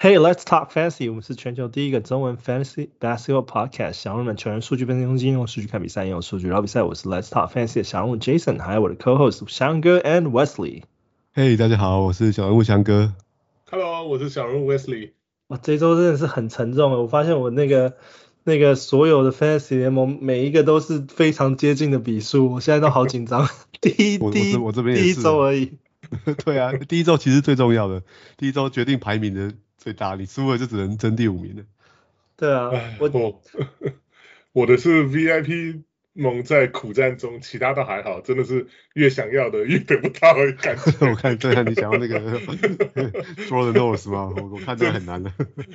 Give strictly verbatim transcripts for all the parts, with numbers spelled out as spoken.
Hey, let's talk fantasy. 我們是全球第一個中文 fantasy basketball podcast。想入門球員數據分析中心，用數據看比賽，用數據聊比賽。我是 Let's Talk Fantasy 的小人物 Jason， 還有我的 co-host 翔哥 and Wesley。 Hey， 大家好，我是小人物翔哥。 Hello， 我是小人物 Wesley。 哇，這周真的是很沉重。我發現我那個那個所有的 fantasy 聯盟每一個都是非常接近的比數，我現在都好緊張。第一第一我這邊也是第一周而已。 對啊，第一周其實最重要的，第一周決定排名的最大，你輸了就只能爭第五名了。 對啊，我我我的是 V I P 盟在苦戰中，其他都還好，真的是越想要的越得不到的感覺。 我看對啊，你想要那個 Draw the Nose 嗎？我我看這很難的。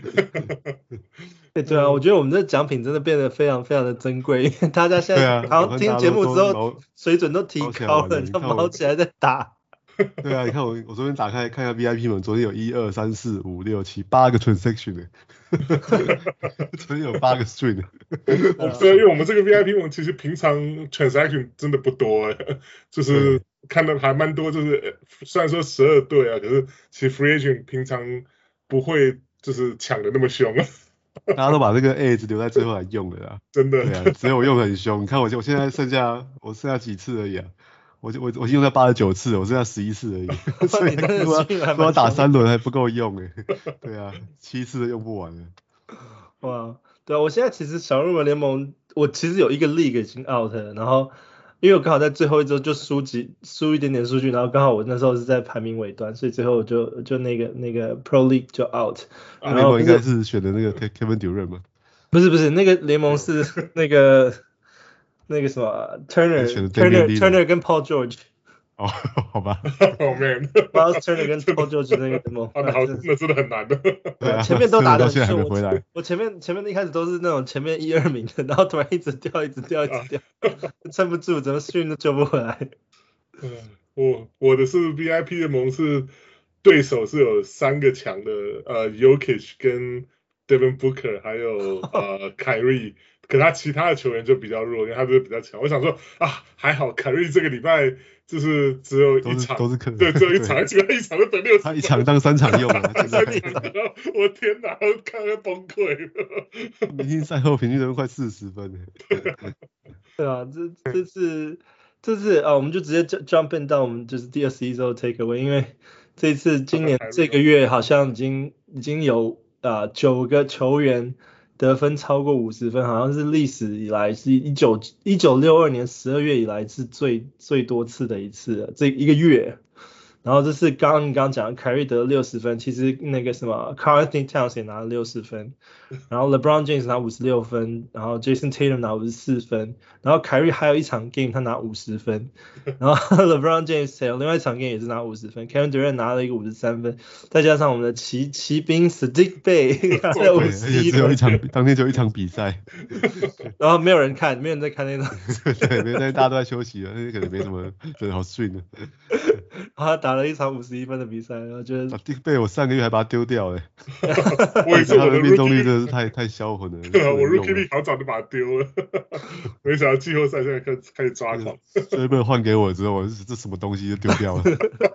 對對啊，我覺得我們這獎品真的變得非常非常的珍貴，因為大家現在好像聽節目之後水準都提高了，就毛起來在打。 對啊，你看我我昨天打開看一下 V I P 盟，昨天有一二三四五六七八個 transaction 呢，昨天有八個 stream。 我對，因為我們這個 V I P 盟其實平常 transaction 真的不多哎，就是看到還蠻多，就是雖然說十二隊啊，可是其實 free agent 平常不會就是搶的那麼兇。 大家都把這個 edge 留在最後來用了啦， 真的。 對啊，只有我用的很兇。你看我我現在剩下我剩下幾次而已啊。我我我用了八十九次，我剩下十一次而已，所以如果要打三輪還不夠用哎。對啊，七次都用不完了。 哇，對啊，我現在其實小入門聯盟，我其實有一個 league 已經 out 了，然後因為我剛好在最後一周就輸幾輸一點點數據，然後剛好我那時候是在排名尾端，所以最後我就就那個那個 Pro League 就 out。 啊，聯盟應該是選的那個 Kevin Durant 嗎？ 不是不是，那個聯盟是那個。那個什麼 Turner Turner Turner 跟 Paul George 哦，好吧 ，Oh man，Miles Turner 跟 Paul George 那個聯盟， 那那真的很難的。 對啊，前面都打得很順， 回來我前面前面一開始都是那種前面一二名的，然後突然一直掉，一直掉，一直掉，撐不住，怎麼 stream 都救不回來。 嗯，我我的是 V I P 的盟是對手是有三個強的，呃 Jokic 跟 Devin Booker 還有呃 Kyrie。可他其他的球員就比較弱，因為他就是比較強。我想說啊，還好凱瑞這個禮拜就是只有一場， 都是可能對，只有一場，結果一場就得六十分， 他一場當三場用了， 三場，我天哪，我看到崩潰了。 明星賽後平均得分快四十分對啊，這這次這次啊，我們就直接 jump in 到我們就是第二十一周 take away， 因為這次今年這個月好像已經已經有啊九個球員得分超過五十分，好像是歷史以來是一九一九六二年十二月以來是最最多次的一次了，這一個月。然後這是剛剛你剛剛講的凱瑞得了六十分，其實那個什麼 Karl-Anthony Towns 也拿了六十分，然後 LeBron James 拿五十六分，然後 Jason Tatum 拿五十四分，然後凱瑞還有一場 game 他拿五十分，然後 LeBron James 有另外一場 game 也是拿五十分，Kevin Durant 拿了一個五十三分，再加上我們的騎騎兵 Saddiq Bey 拿了五十一分， 只有一場，當天只有一場比賽， 然後沒有人看，沒有人在看那場， 對，沒在大家都在休息了，那可能沒什麼人好睡呢。 然後他打了一場五十一分的比賽，然後覺得 Saddiq Bey 我上個月還把他丟掉哎， 我也是，我的命中率真的是太太銷魂了。 對啊，我 Rookie League 好早就把他丟了，沒想到季後賽現在開始開始抓狂。 所以被換給我之後，我這什麼東西就丟掉了。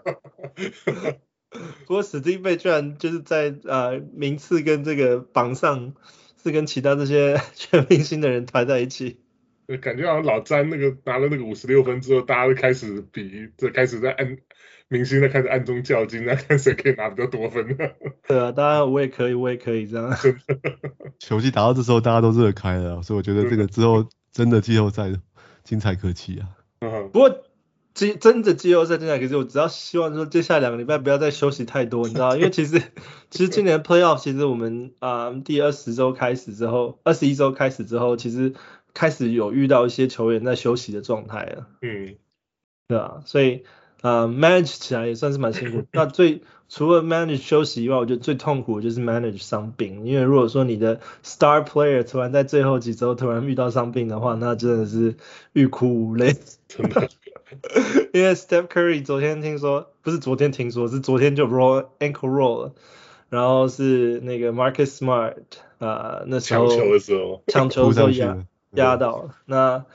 不過史蒂貝居然就是在呃名次跟這個榜上是跟其他這些全明星的人排在一起。 感覺好像老詹那個拿了那個五十六分之後，大家都開始比，就開始在暗明星在開始暗中較勁，那看誰可以拿比較多分。 對啊，當然我也可以，我也可以這樣。 球季打到這時候，大家都熱開了，所以我覺得這個之後真的季後賽精彩可期啊。 不過季真的季後賽精彩可期，我只要希望說接下來兩個禮拜不要再休息太多，你知道，因為其實其實今年的 playoff 其實我們啊、呃、第二十周開始之後，二十一周開始之後，其實開始有遇到一些球員在休息的狀態了。 嗯， 對啊，所以呃 manage 起來也算是蠻辛苦。那最除了 manage 休息以外，我覺得最痛苦的就是 manage 傷病，因為如果說你的 star player 突然在最後幾周突然遇到傷病的話，那真的是欲哭無淚。 真的。 因為 Steph Curry 昨天聽說，不是昨天聽說，是昨天就 roll ankle roll 了，然後是那個 Marcus Smart 啊、呃，那時候搶球的時候， 搶球的時候壓壓到了。那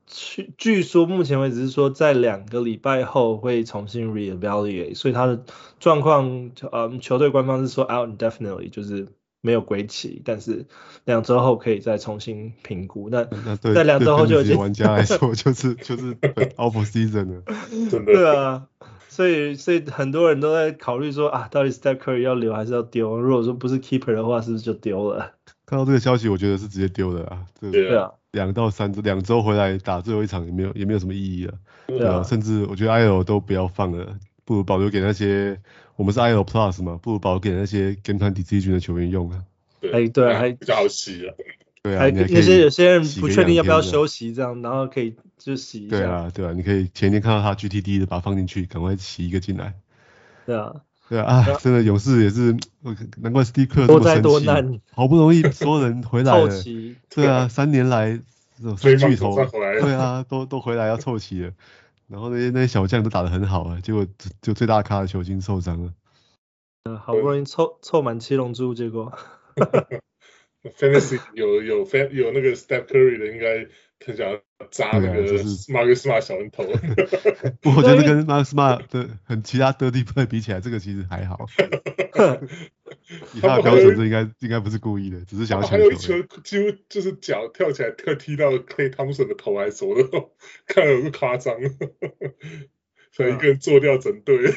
據據說目前為止是說在兩個禮拜後會重新 reevaluate， 所以他的狀況，嗯，球隊官方是說 out indefinitely， 就是沒有歸期，但是兩周後可以再重新評估。那那對在兩周後就已經對玩家來說就是就是 off season 了， 真的。 对啊，所以所以很多人都在考慮說啊，到底 Steph Curry 要留還是要丟？如果說不是 keeper 的話，是不是就丟了？ 看到這個消息，我覺得是直接丟的啊。 對啊， 兩到三周，兩周回來打最後一場也沒有也沒有什麼意義了。 對啊， 甚至我覺得 I L 都不要放了，不如保留給那些我們是 I L Plus 嘛，不如保留給那些 Game Time Decision 的球員用啊。 對對，還比較好洗啊。 對啊， 還那些有些人不確定要不要休息這樣，然後可以就洗一下。 對啊，對啊，你可以前天看到他 G T D 的，把它放進去，趕快洗一個進來。 對啊。 對啊，啊，真的勇士也是，難怪 Steve Kerr 這麼生氣，好不容易所有人回來了， 湊齊， 對啊，三年來這種三巨頭，對啊，都都回來要湊齊了，然後那些那些小將都打得很好啊，結果就最大咖的球星受傷了， 嗯，好不容易湊湊滿七龍珠，結果 ，Fantasy 有有 fan 有那個 Steph Curry 的，應該很想要扎那個 Marcus Smart 小人頭。 不過我覺得跟 Marcus Smart 的很其他 dirty play 比起來，這個其實還好。以他的標準，這應該應該不是故意的，只是想要搶球。還有一球幾乎就是腳跳起來，特踢到 Klay Thompson 的頭還是什麼的，看了有個誇張，想一個人做掉整隊。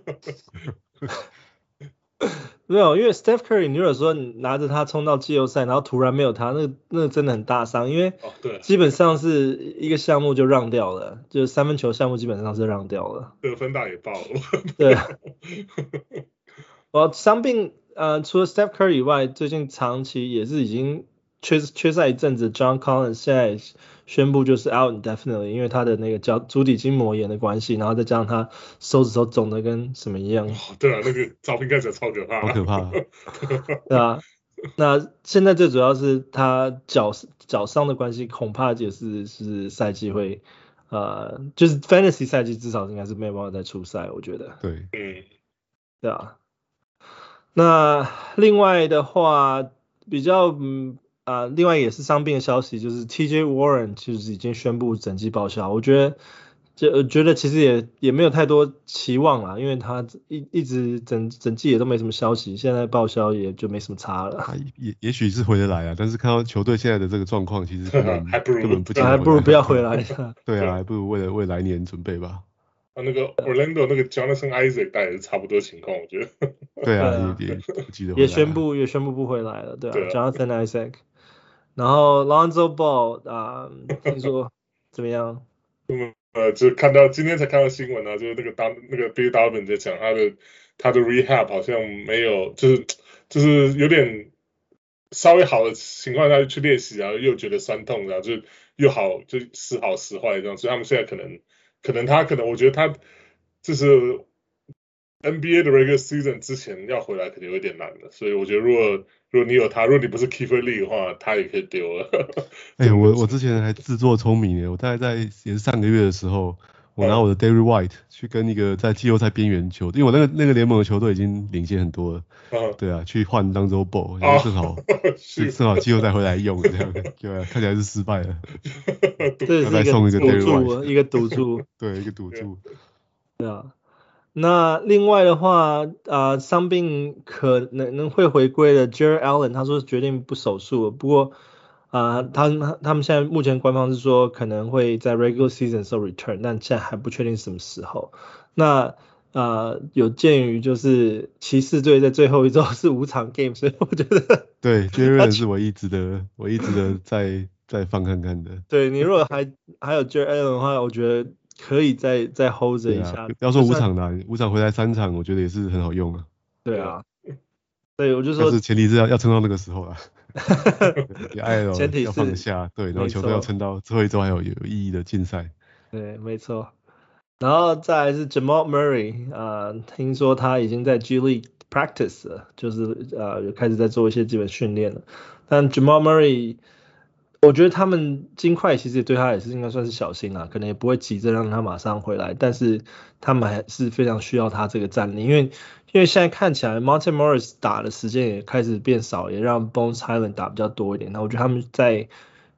沒有，因為 Steph Curry， 你如果說你拿着他衝到季後賽，然後突然沒有他，那那真的很大傷，因為基本上是一個項目就讓掉了，就是三分球項目基本上是讓掉了。 得分大也爆了。 對。我傷病呃，除了 Steph Curry 以外，最近長期也是已經缺缺賽一陣子 ，John Collins 現在宣布就是 out indefinitely， 因為他的那個腳足底筋膜炎的關係，然後再加上他手指頭腫的跟什麼一樣。 哦，對啊，那個照片看起來超可怕。 好可怕。 對啊，那現在最主要是他腳腳傷的關係，恐怕也是是賽季會呃，就是 Fantasy 賽季至少應該是沒有辦法再出賽，我覺得。 對， 嗯， 對啊。那另外的話，比較嗯啊、呃，另外也是傷病的消息，就是 T J Warren 其實已經宣布整季報銷。我覺得，就我覺得其實也也沒有太多期望啦，因為他一一直整整季也都沒什麼消息，現在報銷也就沒什麼差了。 也也許是回得來啊，但是看到球隊現在的這個狀況，其實根本還不如根本不還不如不要回來。 對啊，還不如為了為來年準備吧。 啊，那個 Orlando 那個 Jonathan Isaac 大概也是差不多情況，我覺得。 對啊，也也不記得。 也宣布也宣布不回來了，對啊，對啊 Jonathan Isaac。然後 Lonzo Ball 啊、呃，聽說怎麼樣？ 嗯，呃，就看到今天才看到新聞啊，就是那個當那個 Bill Donovan 在講他的他的 rehab 好像沒有，就是就是有點稍微好的情況下去練習，然後又覺得酸痛，然後就又好，就時好時壞這樣，所以他們現在可能。可能他可能，我覺得他就是 N B A 的 regular season 之前要回來，可能有點難了。所以我覺得，如果如果你有他，如果你不是 Kiefer Lee 的話，他也可以丟了。 哎、欸，我我之前還自作聰明耶，我大概在也是上個月的時候，我拿我的 Derrick White 去跟一個在季後賽邊緣球隊，因為我那個那個聯盟的球隊已經領先很多了。嗯、對啊，去換當周 Ball，然後正好、哦、正好季後賽回來用，這樣對啊，看起來是失敗了。 這是一個賭注，一個賭注。 對，一個賭注。 對啊，那另外的話，啊、呃，傷病可能能會回歸的 Jarrett Allen， 他說決定不手術，不過啊、呃，他他們現在目前官方是說可能會在 regular season 時候 return， 但現在還不確定什麼時候。那呃，有鑑於就是騎士隊在最後一周是五場 game， 所以我覺得對 Jarrett 是我一直的我一直的在再放看看的。 對，你如果還還有 Jarrett Allen 的話，我覺得可以再再 hold 着一下。 不要說五場啦，五場回來三場，我覺得也是很好用啊。 對啊，對，我就說， 但是前提是要要撐到那個時候啊。 前提是要放得下，對，然後球隊要撐到最後一周還有有意義的競賽。 對，沒錯。然後再來是 Jamal Murray， 呃，聽說他已經在 G League practice 了，就是呃開始在做一些基本訓練了。但 Jamal Murray， 我覺得他們金塊其實也對他也是應該算是小心啦，可能也不會急着讓他馬上回來，但是他們還是非常需要他這個戰力，因為因為現在看起來 Monte Morris 打的時間也開始變少，也讓 Bones Hyland 打比較多一點。那我覺得他們在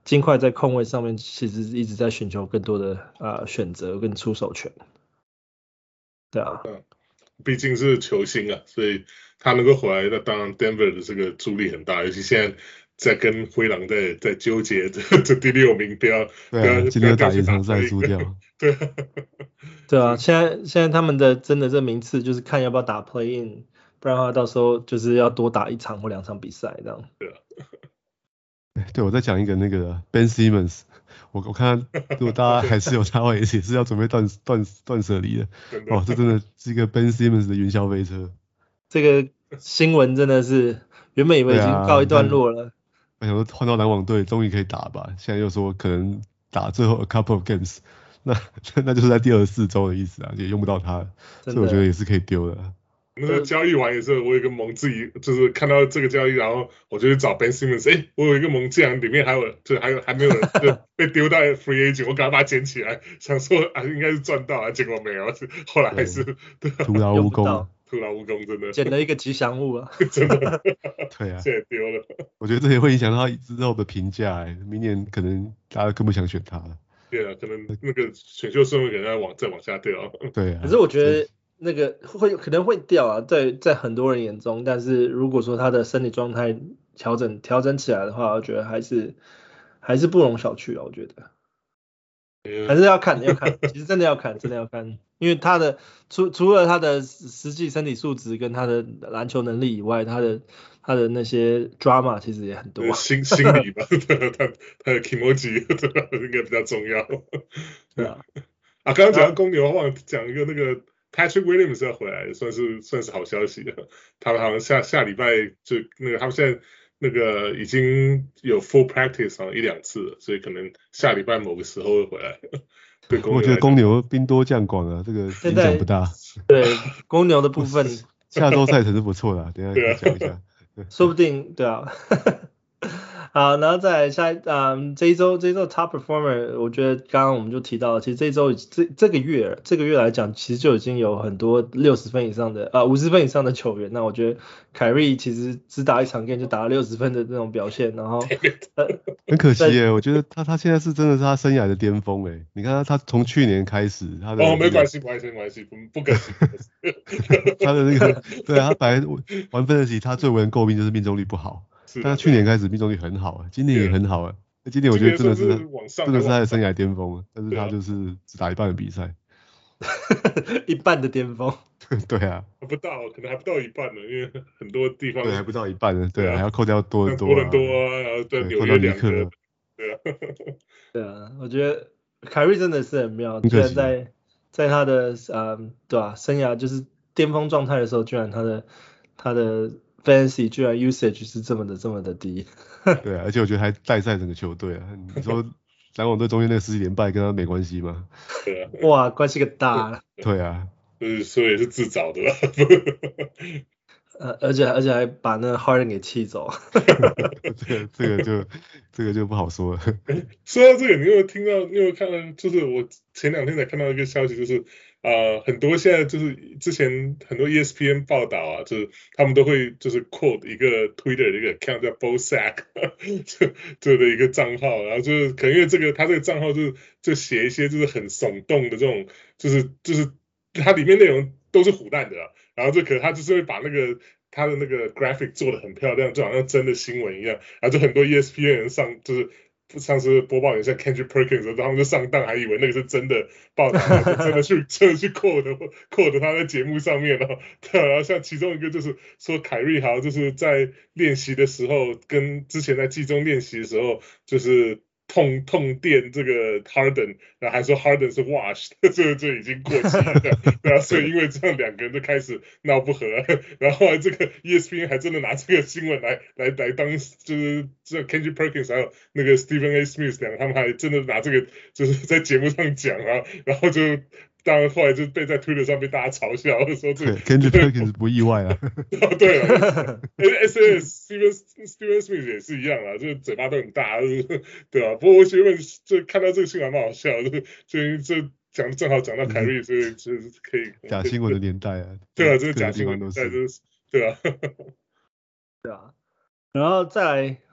金塊在控衛上面其實一直在尋求更多的啊選擇跟出手權。對啊， 嗯，畢竟是球星啊，所以他能夠回來，那當然 Denver 的這個助力很大，尤其現在在跟灰狼在在糾結這這第六名，不要不要今天打延長賽輸掉。 對對啊，現在現在他們的真的這名次就是看要不要打 Play In， 不然的話到時候就是要多打一場或兩場比賽這樣。 對啊。 對，我再講一個那個 Ben Simmons， 我我看如果大家還是有他話，也是要準備斷斷斷捨離的。哦，這真的是一個 Ben Simmons 的雲霄飛車。 這個新聞真的是原本以為已經告一段落了， 我想說換到籃網隊終於可以打吧，現在又說可能打最後 a couple of games， 那那就是在第二十四周的意思啊，也用不到他了，所以我覺得也是可以丟的。 那個交易完也是，我有一個盟自己就是看到這個交易，然後我就去找 Ben Simmons， 哎、欸，我有一個盟，竟然裡面還有，就還有還沒有人就被丟到 free agent， 我趕快把它撿起來，想說啊應該是賺到啊，結果沒有，後來還是對徒勞無功， 徒勞無功，真的撿了一個吉祥物啊， 真的， 對啊， 現在丟了。 我覺得這也會影響到他之後的評價，哎，明年可能大家更不想選他了。 對啊，可能那個選秀順位可能要往再往下掉。 對啊， 可是我覺得。那個會可能會掉啊，在在很多人眼中，但是如果說他的身體狀態調整調整起來的話，我覺得還是還是不容小覷啊，我覺得還是要看要看，其實真的要看，真的要看，因為他的除除了他的實際身體素質跟他的籃球能力以外，他的他的那些 drama 其實也很多， 心心理吧，他他的 kimoji 應該比較重要。 對啊， 啊，剛剛講到公牛，忘了講一個那個。Patrick Williams 要回來，算是算是好消息了。他們好像下下禮拜就那個，他們現在那個已經有 full practice 好像一兩次了，所以可能下禮拜某個時候會回來。對，我覺得公牛兵多將廣啊，這個影響不大。 對，公牛的部分， 下周賽程是不錯的，等一下講一下。 說不定，對啊。好，然後再來下一，嗯，這一周這一周 top performer， 我覺得剛剛我們就提到了，其實這一周這這個月這個月來講，其實就已經有很多六十分以上的啊五十分以上的球員。那我覺得凱瑞其實只打一場 game 就打了六十分的那種表現，然後呃很可惜耶，我覺得他他現在是真的是他生涯的巔峰哎，你看他他從去年開始他的、那個、 哦沒關係沒關係沒關係不不可惜， 他的那個對啊，他本來玩分的時他最為人詬病就是命中率不好。但他去年開始命中率很好，今年也很好啊。今年我覺得真的是真的是他的生涯巔峰，但是他就是只打一半的比賽， 一半的巔峰。 對啊， 不到，可能還不到一半呢，因為很多地方對還不到一半呢，對啊，還要扣掉多很多， 多很多啊，然後對紐約兩個，對啊， 對啊，我覺得凱瑞真的是很妙，居然在在他的嗯對吧，生涯就是巔峰狀態的時候，居然他的他的。Fantasy 居然 usage 是這麼的這麼的低， 對啊，而且我覺得還帶賽整個球隊啊。你說籃網隊中間那個十幾連敗跟他沒關係嗎？ 對啊， 哇，關係個大。 對啊， 就是所以也是自找的吧。 呃，而且而且還把那個 Harden 給氣走。 這個這個就這個就不好說了。 說到這個，你有沒有聽到？你有沒有看到？就是我前兩天才看到一個消息，就是啊、呃，很多現在就是之前很多 E S P N 報道啊，就是他們都會就是 quote 一個 Twitter 的一個 account 叫 Bosack 這這的一個賬號，然後就是可能因為這個他這個賬號就是就寫一些就是很聳動的這種，就是就是它裡面內容都是唬爛的啦。然後這可能他就是會把那個他的那個 graphic 做得很漂亮，就好像真的新聞一樣。然後就很多 E S P N 人上就是上次播報員像 Kendrick Perkins， 他們就上當，還以為那個是真的報道，然後就真的去真的去 quote quote 他在節目上面了。對，然後像其中一個就是說凱瑞豪就是在練習的時候，跟之前在季中練習的時候，就是。痛痛電這個 Harden， 然後還說 Harden 是 washed， 這個就已經過期了，然後所以因為這樣兩個人就開始鬧不和，然後後來這個 E S P N 還真的拿這個新聞來來來當，就是這 Kendrick Perkins 還有那個 Stephen A. Smith 兩個，他們還真的拿這個就是在節目上講啊，然後就。當然，後來就被在 Twitter 上被大家嘲笑，說這個 Kendrick Perkins 不意外啊。 哦，對了 ，S A S Steven Steven Smith 也是一樣啊，就是嘴巴都很大，對吧、啊？不過我覺得就看到這個新聞蠻好笑，就就就講正好講到凱瑞，所以就是可以假新聞的年代啊。 對啊，這個假新聞年代就是對啊。 對啊，然後再來，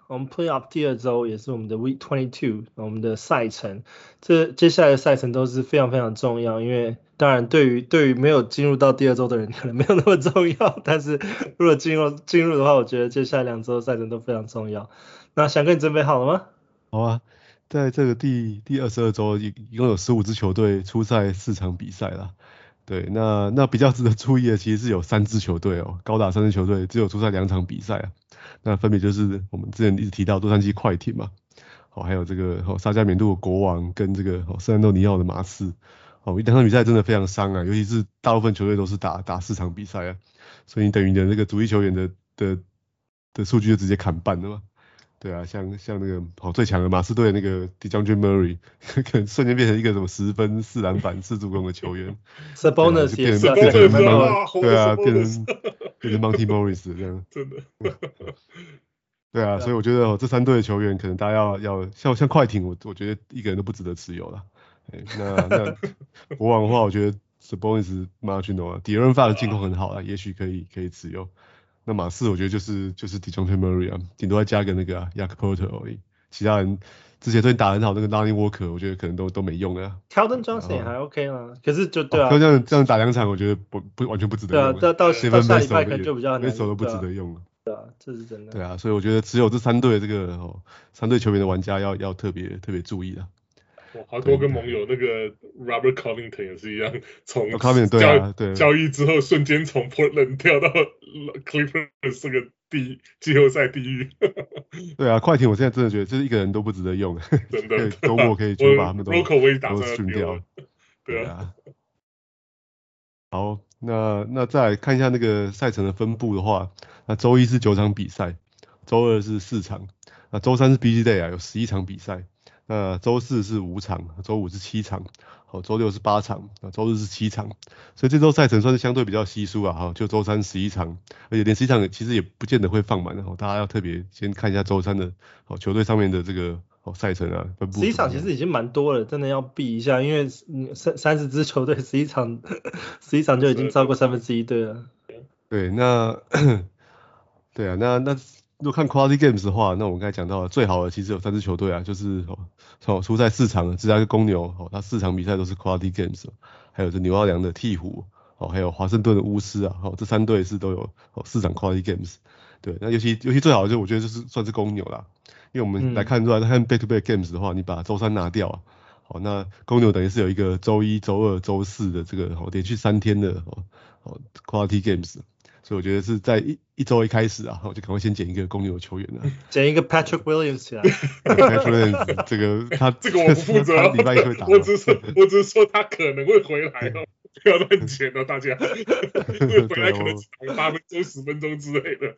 我們 Playoff 第二周也是我們的 Week twenty-two， 我們的賽程。這接下來的賽程都是非常非常重要，因為當然對於對於沒有進入到第二周的人可能沒有那麼重要，但是如果進入進入的話，我覺得接下來兩周的賽程都非常重要。那翔哥，你準備好了嗎？ 好啊，在這個第第二十二周，一一共有十五支球隊出賽四場比賽啦。對，那那比較值得注意的，其實是有三支球隊哦，高達三支球隊只有出賽兩場比賽啊。那分別就是我們之前一直提到洛杉磯快艇嘛，好，還有這個哦薩加緬度的國王跟這個哦聖安東尼奧的馬刺。哦，兩場比賽真的非常傷啊，尤其是大部分球隊都是打打四場比賽啊，所以你等於你的那個主力球員的的的數據就直接砍半了嘛。對啊，像像那個好最強的馬刺隊的那個 DeJounte Murray， 可能瞬間變成一個什麼十分、四籃板、四助攻的球員。 Sabonis 變成變成對啊， 對啊，變成變成 Monty Morris 這樣。 真的。 對啊，所以我覺得哦，這三隊的球員可能大家要要像像快艇，我我覺得一個人都不值得持有了。那那國王的話，我覺得 Sabonis marginal 啊 ，De'Aaron Fox 進攻很好啊，也許可以可以持有。那馬刺我覺得就是就是 DeJounte Murray 啊，頂多再加個那個啊 Jakob Poeltl 而已，其他人之前對你打很好那個 Lonnie Walker， 我覺得可能都都沒用了。 Keldon Johnson 也還 OK 啦，可是就對啊， 哦、這樣這樣打兩場，我覺得不不完全不值得用。 對啊，到到到下禮拜可能就比較難， 那手都不值得用了。 對啊，這是真的。 對啊，所以我覺得只有這三隊這個哦，三隊球員的玩家要要特別特別注意了。 我好多個盟友，那個 Robert Covington 也是一樣，從交交易之後瞬間從 Portland 跳到 Clippers 這個地季後賽地獄。 對啊，快艇我現在真的覺得就是一個人都不值得用， 真的， 周末可以就把他們都都訓掉。 對啊。 好，那那再來看一下那個賽程的分布的話，那周一是九場比賽，周二是四場，那周三是 Busy Day 啊，有十一場比賽。那周四是五場，周五是七場，好，周六是八場，那周日是七場，所以這周賽程算是相對比較稀疏啊，哈，就周三十一場，而且連十一場其實也不見得會放滿的，大家要特別先看一下周三的哦球隊上面的這個哦賽程啊分布。 十一場其實已經蠻多了，真的要避一下，因為三三十支球隊十一場，十一場就已經超過三分之一隊了。 對，那對啊，那那。如果看 Quality Games 的話，那我們剛才講到了最好的其實有三支球隊啊，就是哦出賽四場的芝加哥公牛，哦，他四場比賽都是 Quality Games， 還有這紐奧良的鵜鶘，哦，還有華盛頓的巫師啊，哦，這三隊是都有哦四場 Quality Games， 對，那尤其尤其最好的就我覺得就是算是公牛啦，因為我們來看出來，嗯、看 Back to Back Games 的話，你把周三拿掉啊，好，那公牛等於是有一個周一、周二、周四的這個哦連續三天的哦哦 Quality Games。所以我覺得是在一一周一開始啊，我就趕快先撿一個公牛球員啊， 撿一個 Patrick Williams 起來。 Patrick Williams 這個他這個我不負責，禮拜一會打。我只是說，我只是說他可能會回來哦，不要亂撿哦，大家。會回來可能只打八分鐘、十分鐘之類的。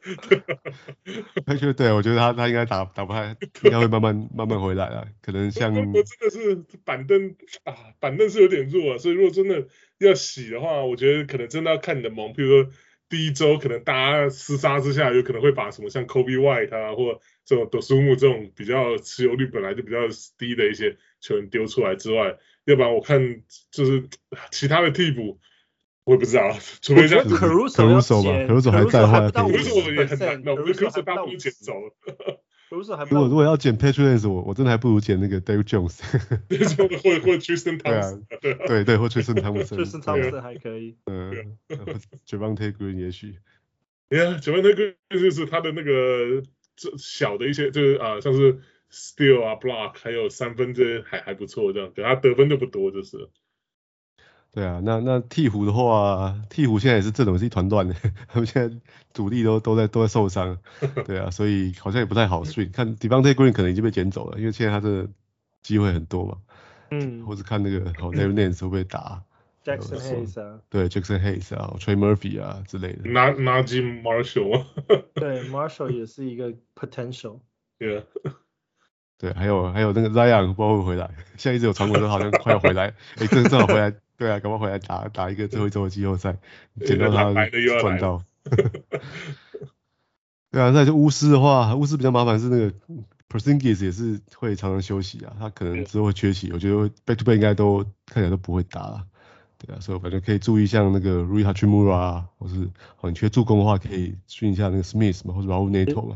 Patrick 對，我覺得他他應該打打不太，應該會慢慢慢慢回來啊，可能像。 我真的是板凳啊，板凳是有點弱啊，所以如果真的要洗的話，我覺得可能真的要看你的盟，比如說。第一周可能大家廝殺之下，有可能會把什麼像 Kobe White 啊，或這種 Dosunmu 這種比較持有率本來就比較低的一些球員丟出來之外，要不然我看就是其他的替補，我也不知道，除非像 Caruso 吧 ，Caruso 還在的話 ，Caruso 也很難，那 Caruso 大部分撿走了。 如果如果要撿 Patrick Williams， 我我真的還不如撿那個 Derrick Jones， 或或 Tristan Thompson， 對啊，對對，或 Tristan Thompson，Tristan Thompson 還可以， 嗯 ，Javonte Green 也許， 對啊 ，Javonte Green 就是他的那個小的一些，就是啊，像是 steal 啊 block， 還有三分這些還還不錯這樣，對他得分就不多就是。 對啊，那那鵜鶘的話，鵜鶘現在也是陣容是一團亂的，他們現在主力都都在都在受傷，對啊，所以好像也不太好睡。看 Devonte Green 可能已經被撿走了，因為現在他的機會很多嘛， 嗯， 或是看那個好 Larry Nance 會不會打 Jackson Hayes 啊， 對 Jackson Hayes 啊 ，Trey Murphy 啊之類的。 Najee Marshall， 對 Marshall 也是一個 potential， 對啊， 對，還有還有那個 Zion 不知道會不會回來，現在一直有傳聞說好像快要回來，哎，正正好回來。對啊，趕快回來打打一個最後一周的季後賽，撿到他賺到。對啊，再就巫師的話，巫師比較麻煩是那個 Porzingis 也是會常常休息啊，他可能之後會缺席，我覺得 back to back 應該都看起來都不會打了。對啊，所以我反正可以注意像那個 Rui Hachimura 啊，或是哦你缺助攻的話可以訓一下那個 Smith 嘛，或者 Raul Neto 嘛。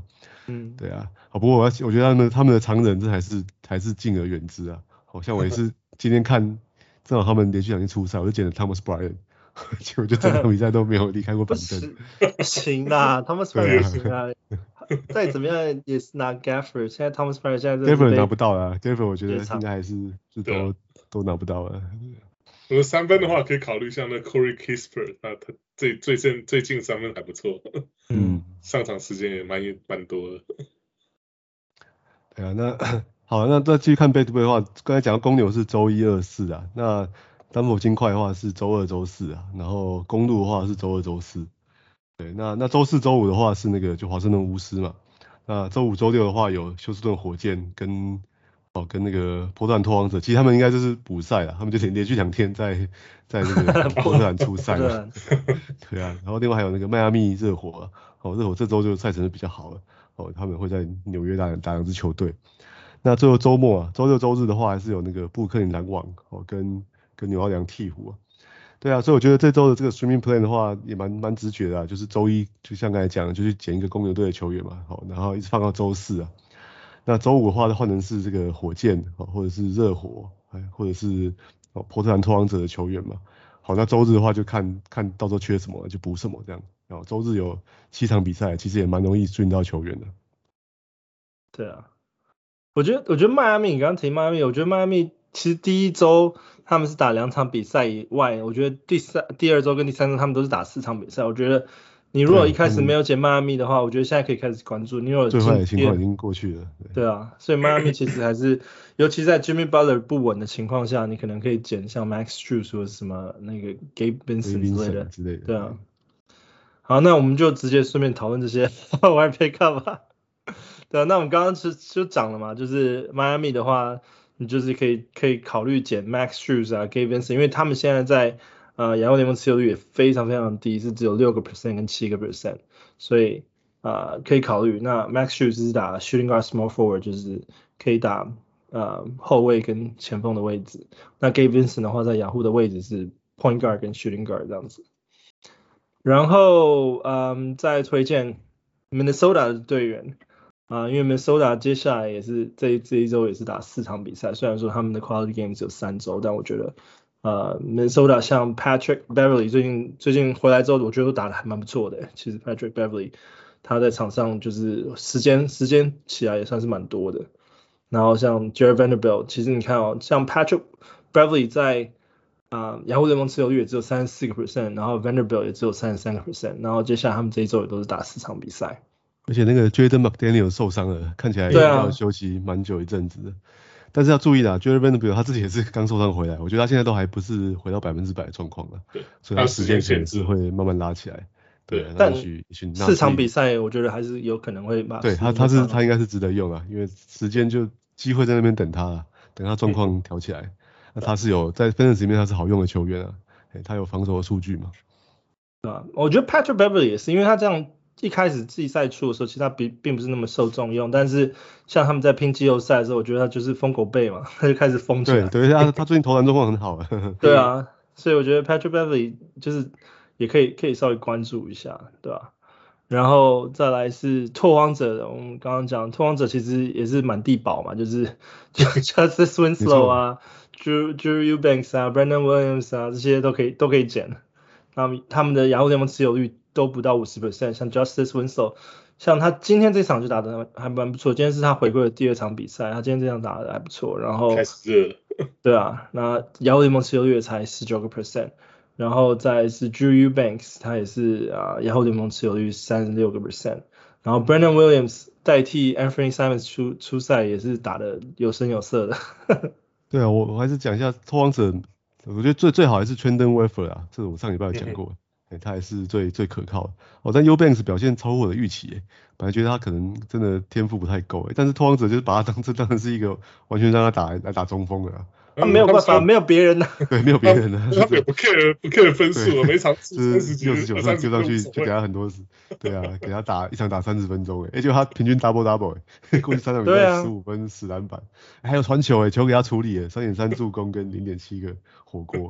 嗯， 對啊，好，不過我要我覺得他們他們的常人這還是還是敬而遠之啊。好像我也是今天看正好他們連續兩天出賽，我就撿了 Thomas Bryant， 結果就整場比賽都沒有離開過板凳。 不行啦，Thomas Bryant 不行啊，再怎麼樣也是拿 Gafford， 現在 Thomas Bryant 現在 Gafford 拿不到啦 Gafford 我覺得應該還是是都都拿不到了。 如果三分的話，可以考慮像那 Corey Kispert， 他他最最近最近三分還不錯，嗯，上場時間也蠻蠻多的。 對啊，那好，那再繼續看 back to back 的話，剛才講到公牛是周一、二、四啊，那丹佛金塊的話是周二、周四啊，然後公鹿的話是周二、周四。對，那那周四、周五的話是那個就華盛頓巫師嘛，那周五、周六的話有休斯頓火箭跟。哦，跟那個波特蘭拓荒者，其實他們應該就是補賽了，他們就連連續兩天在在那個波特蘭出賽了。對啊，然後另外還有那個邁阿密熱火啊，哦，熱火這周就賽程是比較好了，哦，他們會在紐約打打兩支球隊。那最後周末啊，周六周日的話還是有那個布魯克林籃網哦跟跟紐奧良鵜鶘啊。對啊，所以我覺得這周的這個 streaming plan 的話也蠻蠻直覺的啊，就是周一就像剛才講的，就去撿一個公牛隊的球員嘛，好，然後一直放到周四啊。那週五的話，換成是這個火箭，或者是熱火，或者是波特蘭拓荒者的球員嘛。好，那週日的話就看看到時候缺什麼就補什麼這樣。然後週日有七場比賽，其實也蠻容易追到球員的。 對啊，我覺得我覺得邁阿密，你剛剛提邁阿密，我覺得邁阿密其實第一週他們是打兩場比賽以外，我覺得第三、第二週跟第三週他們都是打四場比賽，我覺得。你如果一開始沒有撿邁阿密的話，我覺得現在可以開始關注。你有最壞的情況已經過去了。 對，對啊，所以邁阿密其實還是，尤其在 Jimmy Butler 不穩的情況下，你可能可以撿像 Max Strus 或者什麼那個 Gabe Vincent 之類的。 之類的。 對啊。好，那我們就直接順便討論這些 wide pick-up 吧。對啊，那我們剛剛就就講了嘛，就是邁阿密的話，你就是可以可以考慮撿 Max Strus 啊 Gabe Vincent，因為他們現在在。呃，洋將聯盟持有率也非常非常低，是只有六個 percent 跟七個 percent， 所以呃可以考慮。那 Max Strus 是打 shooting guard small forward， 就是可以打呃後衛跟前鋒的位置。那 Gabe Vincent 的話，在雅虎的位置是 point guard 跟 shooting guard 這樣子。然後嗯、呃，再推薦 Minnesota 的隊員啊、呃，因為 Minnesota 接下來也是這一這一周也是打四場比賽，雖然說他們的 quality game 只有三周，但我覺得。呃 ，Minnesota 像 Patrick Beverly 最近最近回來之後，我覺得都打得還蠻不錯的。其實 Patrick Beverly 他在場上就是時間時間起來也算是蠻多的。然後像 Jared Vanderbilt， 其實你看哦，像 Patrick Beverly 在啊雅虎聯盟持有率也只有三十四個 percent， 然後 Vanderbilt 也只有三十三個 percent， 然後接下來他們這一周也都是打四場比賽。 而且那個 Jaden McDaniel 受傷了，看起來要休息蠻久一陣子的。但是要注意啦 Jared Vanderbilt 他自己也是剛受傷回來，我覺得他現在都還不是回到百分之百的狀況了，所以他時間限制會慢慢拉起來。對，對但四場比賽我覺得還是有可能會把。 對他他是他應該是值得用啊，因為時間就機會在那邊等他了，等他狀況調起來。嗯、那他是有在 Fantasy 裡面他是好用的球員啊，他有防守的數據嘛。 啊，我覺得 Patrick Beverly 也是，因為他這樣。一開始季賽出的時候，其實他並並不是那麼受重用，但是像他們在拼季後賽的時候，我覺得他就是瘋狗背嘛，他就開始瘋起來。 對，對，他他最近投籃狀況很好。 對啊，所以我覺得 Patrick Beverly 就是也可以可以稍微關注一下，對吧、啊？然後再來是拓荒者，我們剛剛講拓荒者其實也是滿地寶嘛，就是就 Justice Winslow 啊，Drew Drew Eubanks 啊 ，Brandon Williams 啊，這些都可以都可以撿。他們他們的雅虎聯盟持有率都不到 百分之五十， 像 Justice Winslow， 像他今天這場就打得還蠻不錯，今天是他回歸的第二場比賽，他今天這場打得還不錯，然後開始熱了，對啊，那雅虎聯盟持有率也才 百分之十九， 然後再來是 Drew Eubanks， 他也是啊雅虎聯盟持有率 百分之三十六， 然後 Brandon Williams 代替 Anthony Simons 出出賽也是打得有聲有色的。 對啊，我我還是講一下拓荒者。我覺得最最好還是 Trendon Watford 啊，這個我上禮拜有講過，嗯欸、他還是最最可靠的。哦，但 Eubanks 表現超乎我的預期，本來覺得他可能真的天賦不太夠，但是拓荒者就是把他當這當成是一個完全讓他打來打中鋒的啊。 他、啊、沒有辦法，沒有別人的。 對，沒有別人的。 他也不 care 不 care 分數，每場就是六十九上就上去就給他很多，對啊，給他打一場打三十分鐘，哎，結果他平均 double double， 哎，過去三場比賽十五分十籃板，還有傳球，哎，球給他處理，哎，三點三助攻跟零點七個火鍋，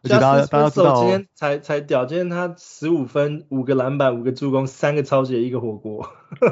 而且大家大家知道、哦， 今天才才屌，今天他十五分、五個籃板、五個助攻、三個抄截、一個火鍋。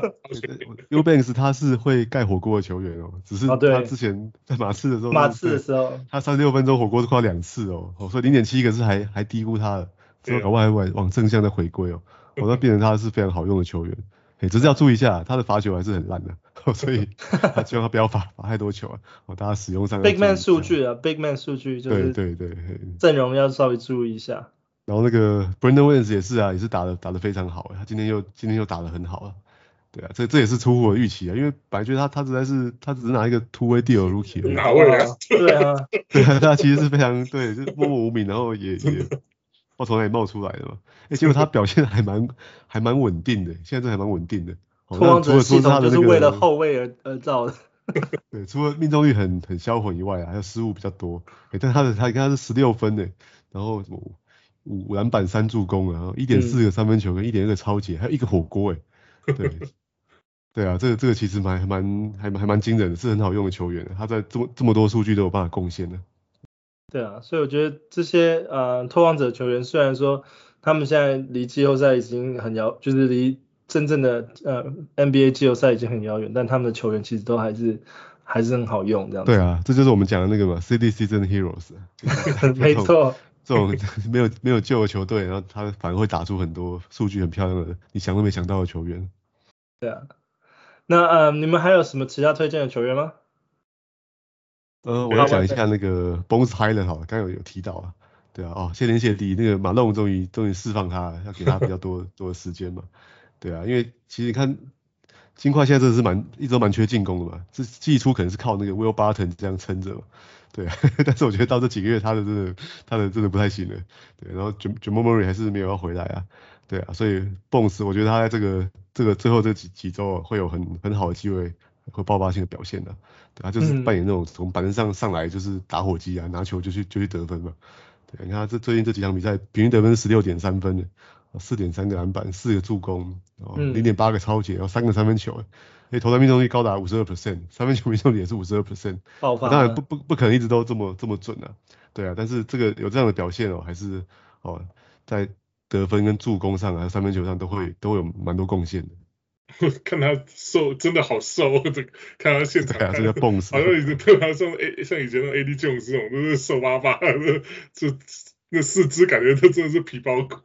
Eubanks 他是會蓋火鍋的球員哦，只是他之前在馬刺的時候， 馬刺的時候， 他三十六分鐘火鍋是跨兩次哦，所以零點七個是還還低估他的，之後搞不好還往往正向的回歸哦，我那變成他是非常好用的球員，哎，只是要注意一下，他的罰球還是很爛的，所以他希望他不要罰罰太多球啊，哦，大家使用上 Big Man 數據啊 ，Big Man 數據就是對對對， 陣容要稍微注意一下。 然後那個 Brandon Williams 也是啊，也是打的打的非常好，他今天又今天又打得很好啊。對啊，這這也是出乎我的預期啊，因為本來覺得他他實在是他只是拿一個 two way deal rookie 而已。 哪位啊？ 對啊， 對啊，他其實是非常對，就是默默無名，然後也也不從哪裡冒出來的嘛。哎，結果他表現還蠻還蠻穩定的，現在這還蠻穩定的。 拓荒者系統就是為了後衛而而造的。 對，除了命中率很很銷魂以外啊，還有失誤比較多。哎，但他的他你看他是十六分誒，然後五五籃板三助攻，然後一點四個三分球跟一點二個抄截，還有一個火鍋誒。對。對啊，這個這個其實蠻蠻還蠻還蠻驚人的，是很好用的球員，他在這麼這麼多數據都有辦法貢獻的。 對啊，所以我覺得這些呃拓荒者球員雖然說他們現在離季後賽已經很遙，就是離真正的呃 N B A 季後賽已經很遙遠，但他們的球員其實都還是還是很好用這樣子。 對啊，這就是我們講的那個嘛 ，City Season Heroes。 沒錯， 這種沒有沒有救的球隊，然後他反而會打出很多數據很漂亮的，你想都沒想到的球員。 對啊。那呃，你們還有什麼其他推薦的球員嗎？ 呃，我要講一下那個 Bones Hyland 好了，剛剛有有提到啊，對啊，哦，謝天謝地，那個馬龍終於終於釋放他了，要給他比較多多的時間嘛，對啊，因為其實你看金塊現在真的是蠻一直都蠻缺進攻的嘛，這季初可能是靠那個 Will Barton 這樣撐着嘛，對啊，但是我覺得到這幾個月他的真的他的真的不太行了，對，然後 Jamal Murray 還是沒有要回來啊。對啊，所以 Bones 我覺得他在這個這個最後這幾幾周會有很很好的機會和爆發性的表現的，對，他就是扮演那種從板凳上上來就是打火機啊，拿球就去就去得分嘛。對，你看他這最近這幾場比賽平均得分是十六點三分的，四點三個籃板，四個助攻，哦，零點八個抄截，然後三個三分球，哎，投籃命中率高達五十二 percent， 三分球命中率也是五十二 percent， 爆發。當然不不不可能一直都這麼這麼準啊，對啊，但是這個有這樣的表現哦，還是哦在得分跟助攻上啊，三分球上都會都會有蠻多貢獻的。 看他瘦，真的好瘦，這看他現場看， 對啊，這叫蹦死， 好像已經對他像 A 像以前的 A D Jones 這種，都是瘦巴巴的，就那四肢感覺都真的是皮包骨。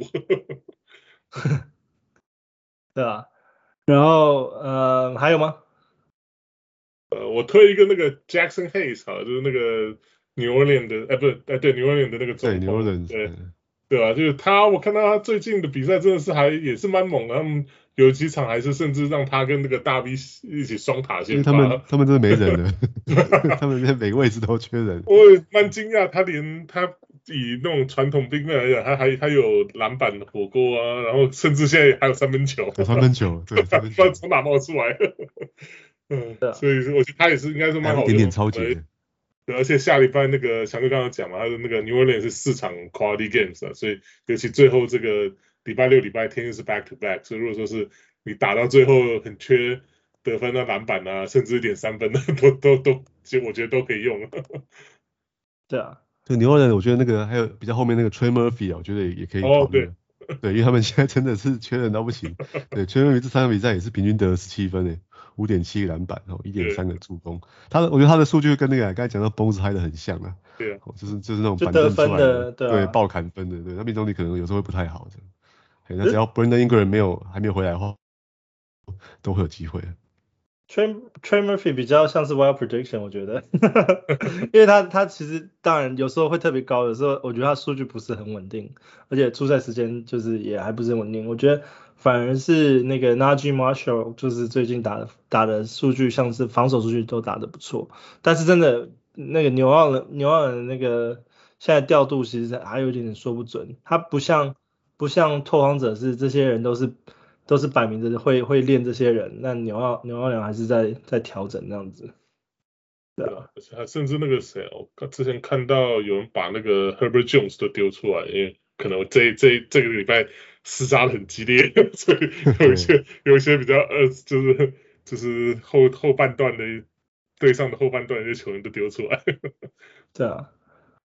對啊，然後呃還有嗎？ 呃，我推一個那個 Jackson Hayes 哈，就是那個 New Orleans 的，哎不是，哎對 New Orleans 的那個中鋒，對 New Orleans，對。對啊，就是他，我看到他最近的比賽真的是還也是蠻猛的，他們有幾場還是甚至讓他跟那個大 V 一起雙塔先發。 他們他們真的沒人了，他們連每個位置都缺人。 我蠻驚訝，他連他以那種傳統兵面來講，他還他有籃板火鍋啊，然後甚至現在還有三分球。 有三分球，對，三分球不知道從哪冒出來。嗯，所以我覺得他也是應該是蠻好的。 一點點超級。 對，而且下禮拜那個強哥剛剛講嘛，他的那個 New Orleans 是四場 quality games 啊，所以尤其最後這個禮拜六、禮拜天又是 back to back，所以如果說是你打到最後很缺得分啊、籃板啊，甚至一點三分的，都都都，其實我覺得都可以用。 對啊， 對 New Orleans 我覺得那個還有比較後面那個 Trey Murphy 啊，我覺得也也可以考慮。哦，對，對，因為他們現在真的是缺人到不行。對 Trey Murphy 這三場比賽也是平均得了十七分誒。五點七個籃板，哦，一點三個助攻。他的，我覺得他的數據跟那個剛才講到 Bones Hyland 很像啊。 對啊， 就是就是那種板凳出來的，對， 對，爆砍分的，對，他命中率可能有時候會不太好的。那只要 Brandon Ingram 沒有還沒有回來的話，都會有機會。 Trey Trey Murphy 比較像是 wild prediction， 我覺得，因為他他其實當然有時候會特別高，有時候我覺得他數據不是很穩定，而且出賽時間就是也還不是很穩定。我覺得反而是那個 Naji Marshall， 就是最近打的打的數據像是防守數據都打得不錯，但是真的那個紐奧良紐奧良的那個現在調度其實還有一點點說不準，他不像不像拓荒者是這些人都是。都是擺明着會會練這些人，那紐奧紐奧良還是在在調整這樣子。對啊， 還甚至那個誰，我之前看到有人把那個 Herbert Jones 都丟出來，因為可能這這這個禮拜廝殺的很激烈，所以有一些有一些比較呃，就是就是後後半段的對上的後半段的一些球員都丟出來。 對啊，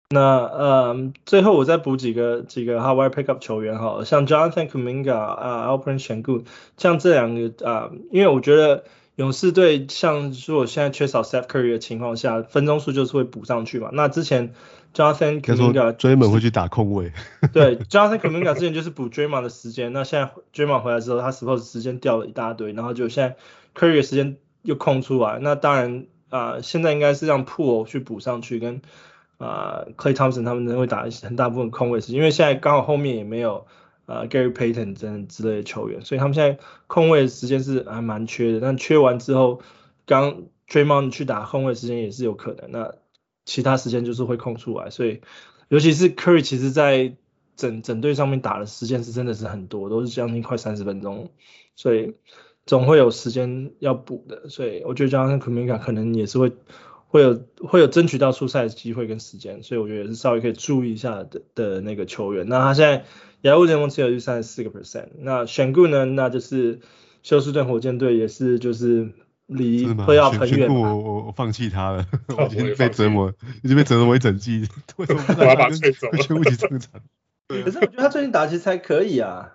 那呃，最後我再補幾個幾個 Hawaii pickup 球員哈，像 Jonathan Kuminga 啊、呃、Alperen Sengun，像這兩個啊、呃，因為我覺得勇士隊像如果現在缺少 Steph Curry 的情況下，分鐘數就是會補上去嘛。那之前 Jonathan Kuminga Draymond 會去打控衛， 對，Jonathan Kuminga 之前就是補 Draymond 的時間，那現在 Draymond 回來之後，他 suppose 時間掉了一大堆，然後就現在 Curry 的時間又空出來，那當然啊、呃，現在應該是讓 Poole 去補上去跟。啊、呃、，Klay Thompson 他們會打很大部分空位時間，因為現在剛好後面也沒有啊、呃、Gary Payton 這之類的球員，所以他們現在空位時間是還蠻缺的。但缺完之後，剛 Draymond 去打空位時間也是有可能，那其他時間就是會空出來。所以尤其是 Curry 其實在整整隊上面打的時間是真的是很多，都是將近快三十分鐘，所以總會有時間要補的。所以我覺得 Jonathan Kuminga 可能也是會。會有會有爭取到出賽的機會跟時間，所以我覺得也是稍微可以注意一下的的那個球員。那他現在亞洲聯盟持有率三十四個 percent。那選固呢，那就是休斯頓火箭隊也是就是離會要很遠。 我我我放棄他了，我已經被折磨，已經被折磨一整季，為什麼不我要把他吹走？ 全部一起上場。 可是我覺得他最近打其實還可以啊。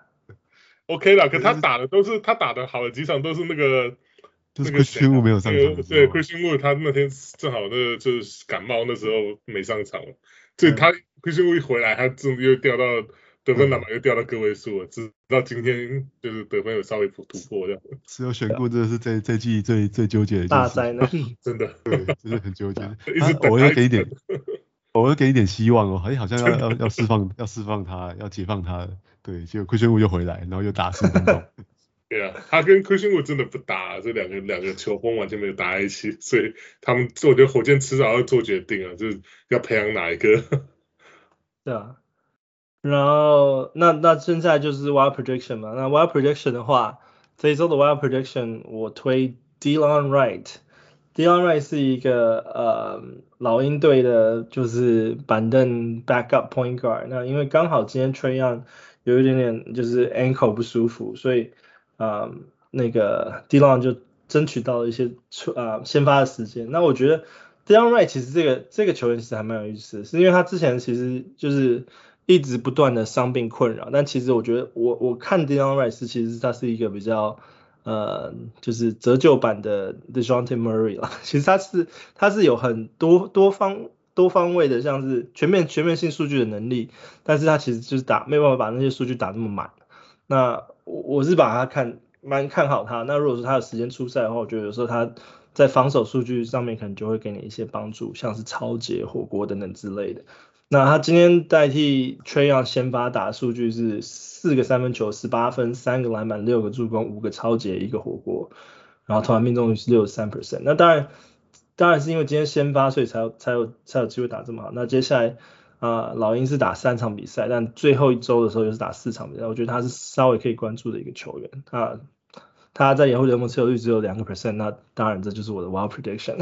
OK 啦，可他打的都是他打的好的幾場都是那個。 就是 Christian Wood 沒有上場、那個， 對 Christian Wood 他那天正好那個就是感冒，那時候沒上場了。所以他 Christian Wood 一回來，他真的又掉到得分籃板又掉到個位數了，直到今天就是得分有稍微突破這樣。 只有選過真的是這這季最最糾結的大災難， 真的， 對，真的很糾結。我要給一點，我要給一點希望哦，哎，好像要要要釋放要釋放他，要解放他，對，結果 Christian Wood 又回來，然後又打十分鐘。 對啊，他跟 Christian Wood 真的不搭，這兩個兩個球風完全沒有搭在一起，所以他們我覺得火箭遲早要做決定啊，就是要培養哪一個。 對啊，然後那那現在就是 Wild Prediction 嘛，那 Wild Prediction 的話，這一周的 Wild Prediction 我推 Delon Wright。Delon Wright 是一個呃老鷹隊的，就是板凳 backup point guard。那因為剛好今天 Trae Young 有一點點就是 ankle 不舒服，所以啊、呃，那個 Delon 就爭取到了一些出啊、呃、先發的時間。那我覺得 Delon Wright 其實這個這個球員其實還蠻有意思的，是因為他之前其實就是一直不斷的傷病困擾，但其實我覺得我我看 Delon Wright 是其實他是一個比較呃就是折舊版的 DeJounte Murray 啦。其實他是他是有很多多方多方位的，像是全面全面性數據的能力，但是他其實就是打沒有辦法把那些數據打那麼滿。那我是把他看蠻看好他，那如果說他有時間出賽的話，我覺得有時候他在防守數據上面可能就會給你一些幫助，像是抄截、火鍋等等之類的。那他今天代替 Trae Young 先發打的數據是四個三分球、十八分、三個籃板、六個助攻、五個抄截、一個火鍋，然後投籃命中率是 百分之六十三。那當然當然是因為今天先發，所以才有才有才有機會打這麼好。那接下來啊、呃，老鷹是打三場比賽，但最後一周的時候又是打四場比賽，我覺得他是稍微可以關注的一個球員。他他在亞洲聯盟持有率只有兩個 percent， 那當然這就是我的 wild prediction。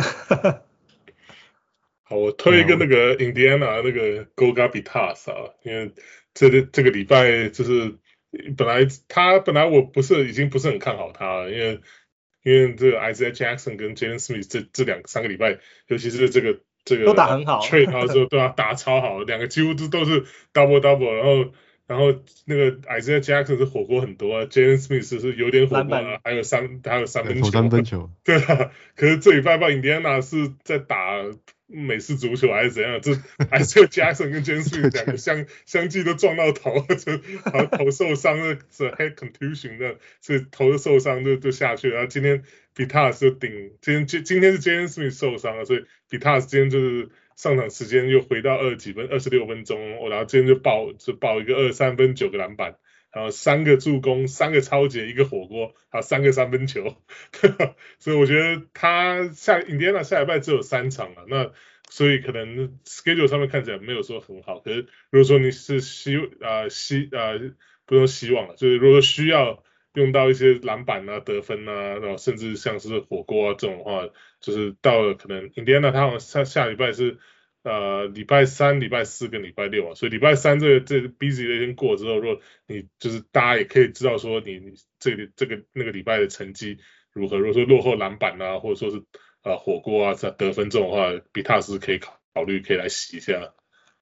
好，我推一個那個 Indiana 那個 Goga Bitadze 啊，因為這個這個禮拜就是本來他本來我不是已經不是很看好他了，因為因為這個 Isaiah Jackson 跟 Jalen Smith 這這兩三個禮拜，尤其是這個。這個都打很好 ，trade 他之後對他打超好，兩個幾乎都都是 double double， 然後然後那個 Isaiah Jackson 是火鍋很多啊 ，Jalen Smith 是有點火鍋啊，還有三還有三分球， 三分球， 對啊，可是這禮拜吧 Indiana 是在打美式足球還是怎樣？這 Isaiah Jackson 跟 Jalen Smith 兩個相相繼都撞到頭，就好像頭受傷了，是 head contusion 的，所以頭受傷就就下去了。然後今天 Bitadze 就頂，今天今今天是 Jalen Smith 受傷了，所以 Bitadze 今天就是上場時間又回到二十幾分，二十六分鐘，然後今天就爆就爆一個二十三分九個籃板，然後三個助攻，三個抄截，一個火鍋，還有三個三分球，所以我覺得他下 Indiana 下禮拜只有三場了，那所以可能 schedule 上面看起來沒有說很好，可是如果說你是希啊希啊不用希望了，就是如果說需要用到一些籃板啊、得分啊，然後甚至像是火鍋啊這種的話，就是到了可能 Indiana 他好像下下禮拜是。呃，禮拜三、禮拜四跟禮拜六啊，所以禮拜三這個這個 busy 的一天過之後，如果你就是大家也可以知道說你你這個這個那個禮拜的成績如何，如果說落後籃板啊，或者說是呃火鍋啊得分這種的話，Bitadze是可以考考慮可以來洗一下。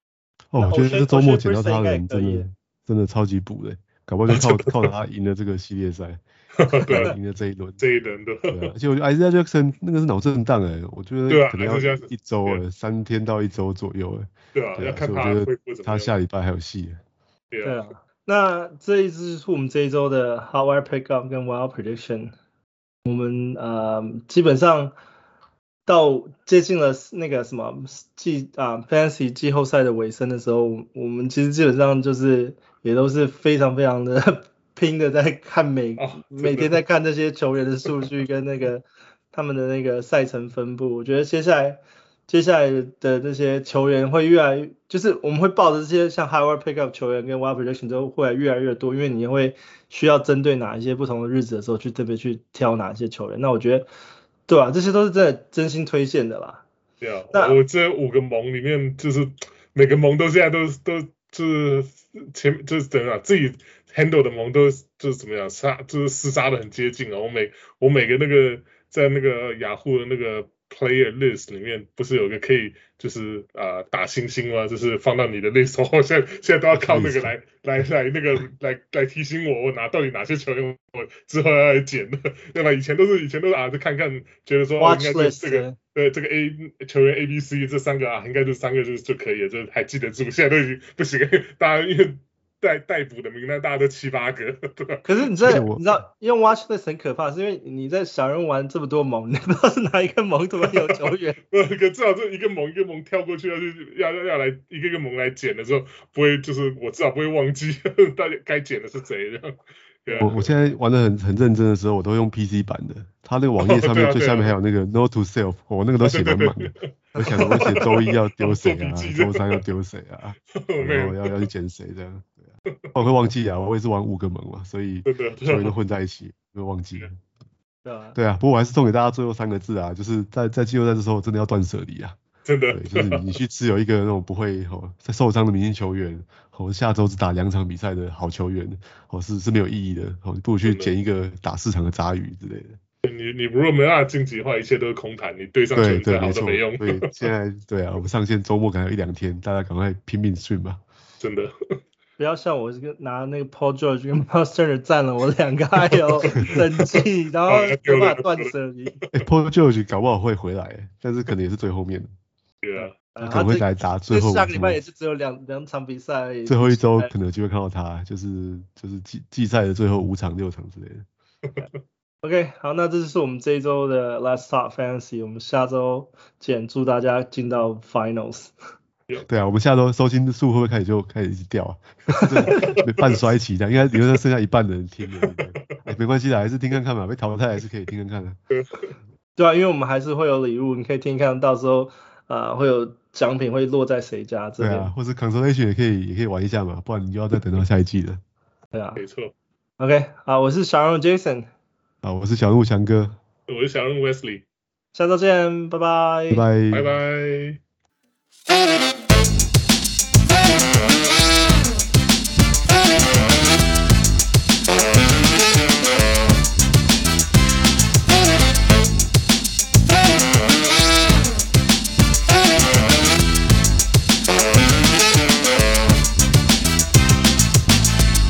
哦，我覺得這周末撿到他的人真的真的超級補的，搞不好就靠靠他贏了這個系列賽，對，贏了這一輪， 這一輪的。 對啊，而且我覺得 Isaiah Jackson 那個是腦震盪哎，我覺得可能要一周了，三天到一周左右哎。 對啊，要看他恢復怎麼樣。 他下禮拜還有戲。 對啊。 那這一支是我們這一周的 Hotwire Pickup 跟 Wild Prediction， 我們呃基本上到接近了那個什麼季啊 Fantasy 季後賽的尾聲的時候，我們其實基本上就是也都是非常非常的拼的在看每、哦、每天在看這些球員的數據跟那個他們的那個賽程分布。我覺得接下來接下來的這些球員會越來越，就是我們會抱着這些像 Hotwire Pickup 球員跟 Wild Prediction 都會越來越多，因為你會需要針對哪一些不同的日子的時候去特別去挑哪些球員。那我覺得，對啊，這些都是真的真心推薦的啦。 對啊，那我這五個盟裡面，就是每個盟都現在都都就是前就是怎樣自己 handle 的盟都就是怎麼樣殺，就是廝殺的很接近啊。我每我每個那個在那個雅虎的那個Player list 裡面不是有個可以就是啊、呃、打星星嗎？就是放到你的 list，我現在現在都要靠那個來來來那個來來提醒我，我拿到底哪些球員我之後要來撿的，對吧？以前都是以前都是啊，就看看覺得說、哦、應該是這個對這個 A 球員 A B C 這三個啊，應該這三個就就可以了，就還記得住。現在都已經不行，大家因為待待補的名單大家都七八個，對吧？ 可是你在你知道用 watch list 很可怕，是因為你在小人玩這麼多盟，你不知道是哪一個盟突然有球員。可至少這一個盟一個盟跳過去要去要要要來一個一個盟來撿的時候，不會就是我至少不會忘記大家該撿的是誰這樣。對啊、 我我現在玩的很很認真的時候，我都用 P C 版的，他那個網頁上面最下面還有那個 Note to Self，我、哦、那個都寫滿滿的。我想我寫周一要丟誰啊，周三要丟誰啊，然後要要去撿誰這樣。我會忘記啊，我也是玩五個盟嘛，所以球員都混在一起，會忘記了。 對啊， 對啊，不過我還是送給大家最後三個字啊，就是在在季後賽的時候真的要斷捨離啊， 真的， 對，就是你去持有一個那種不會哦在受傷的明星球員，哦下周只打兩場比賽的好球員，哦是是沒有意義的，哦你不如去撿一個打四場的雜魚之類的。 你你如果沒辦法晉級的話，一切都是空談，你對上球員再好都沒用。 對，對現在對啊，我們上線周末可能有一兩天，大家趕快拼命stream吧。 真的。 不要像我這個拿那個 Paul George 跟 Miles Turner 占了我兩個還有整季，然後沒辦法斷捨離。 Paul George 搞不好會回來，但是可能也是最後面的。 對啊， 他可能會來打最後。 下個禮拜也是只有兩兩場比賽而已。 最後一周可能就會看到他，就是就是季季賽的最後五場六場之類的。 OK， 好，那這就是我們這一周的 Let's Talk Fantasy， 我們下周見，祝大家進到 Finals。 對啊，我們下周收聽數會不會開始就開始一直掉啊？半衰期的，應該理論上剩下一半的人聽了。哎，沒關係的，還是聽看看嘛，被淘汰還是可以聽看看的。 對啊，因為我們還是會有禮物，你可以聽看到時候啊、呃、會有獎品會落在誰家這邊。對啊，或是 consolation 也可以也可以玩一下嘛，不然你就要再等到下一季了。 對啊， 沒錯。 OK， 好，我是小人 Jason。 好，我是小鹿強哥。 我是小人 Wesley。 下周見，拜拜。 拜拜。 拜拜。